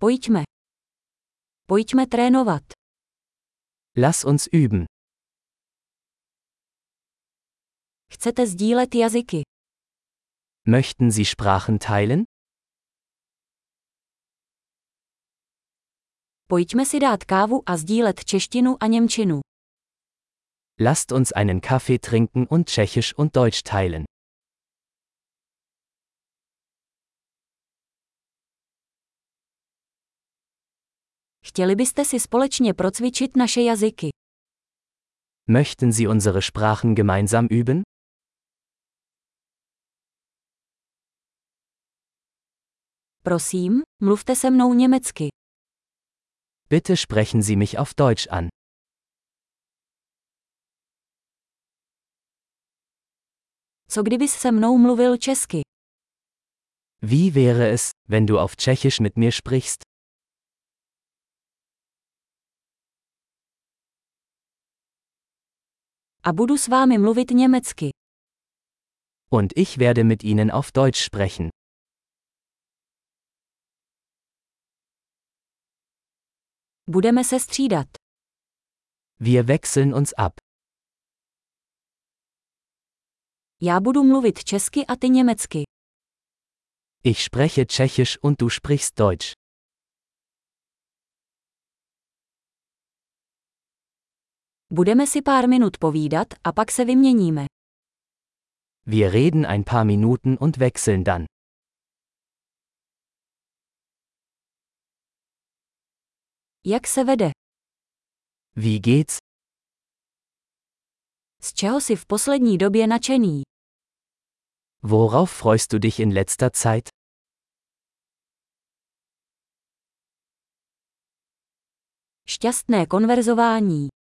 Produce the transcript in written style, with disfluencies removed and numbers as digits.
Pojďme. Pojďme trénovat. Lass uns üben. Chcete sdílet jazyky? Möchten Sie Sprachen teilen? Pojďme si dát kávu a sdílet češtinu a němčinu. Lasst uns einen Kaffee trinken und Tschechisch und Deutsch teilen. Chtěli byste si společně procvičit naše jazyky? Möchten Sie unsere Sprachen gemeinsam üben? Prosím, mluvte se mnou německy. Bitte sprechen Sie mich auf Deutsch an. Co kdybys se mnou mluvil česky? Wie wäre es, wenn du auf Tschechisch mit mir sprichst? A budu s vámi mluvit německy. Und ich werde mit Ihnen auf Deutsch sprechen. Budeme se střídat. Wir wechseln uns ab. Já budu mluvit česky a ty německy. Ich spreche Tschechisch und du sprichst Deutsch. Budeme si pár minut povídat a pak se vyměníme. Wir reden ein paar Minuten und wechseln dann. Jak se vede? Wie geht's? Z čeho jsi v poslední době nadšený? Worauf freust du dich in letzter Zeit? Šťastné konverzování.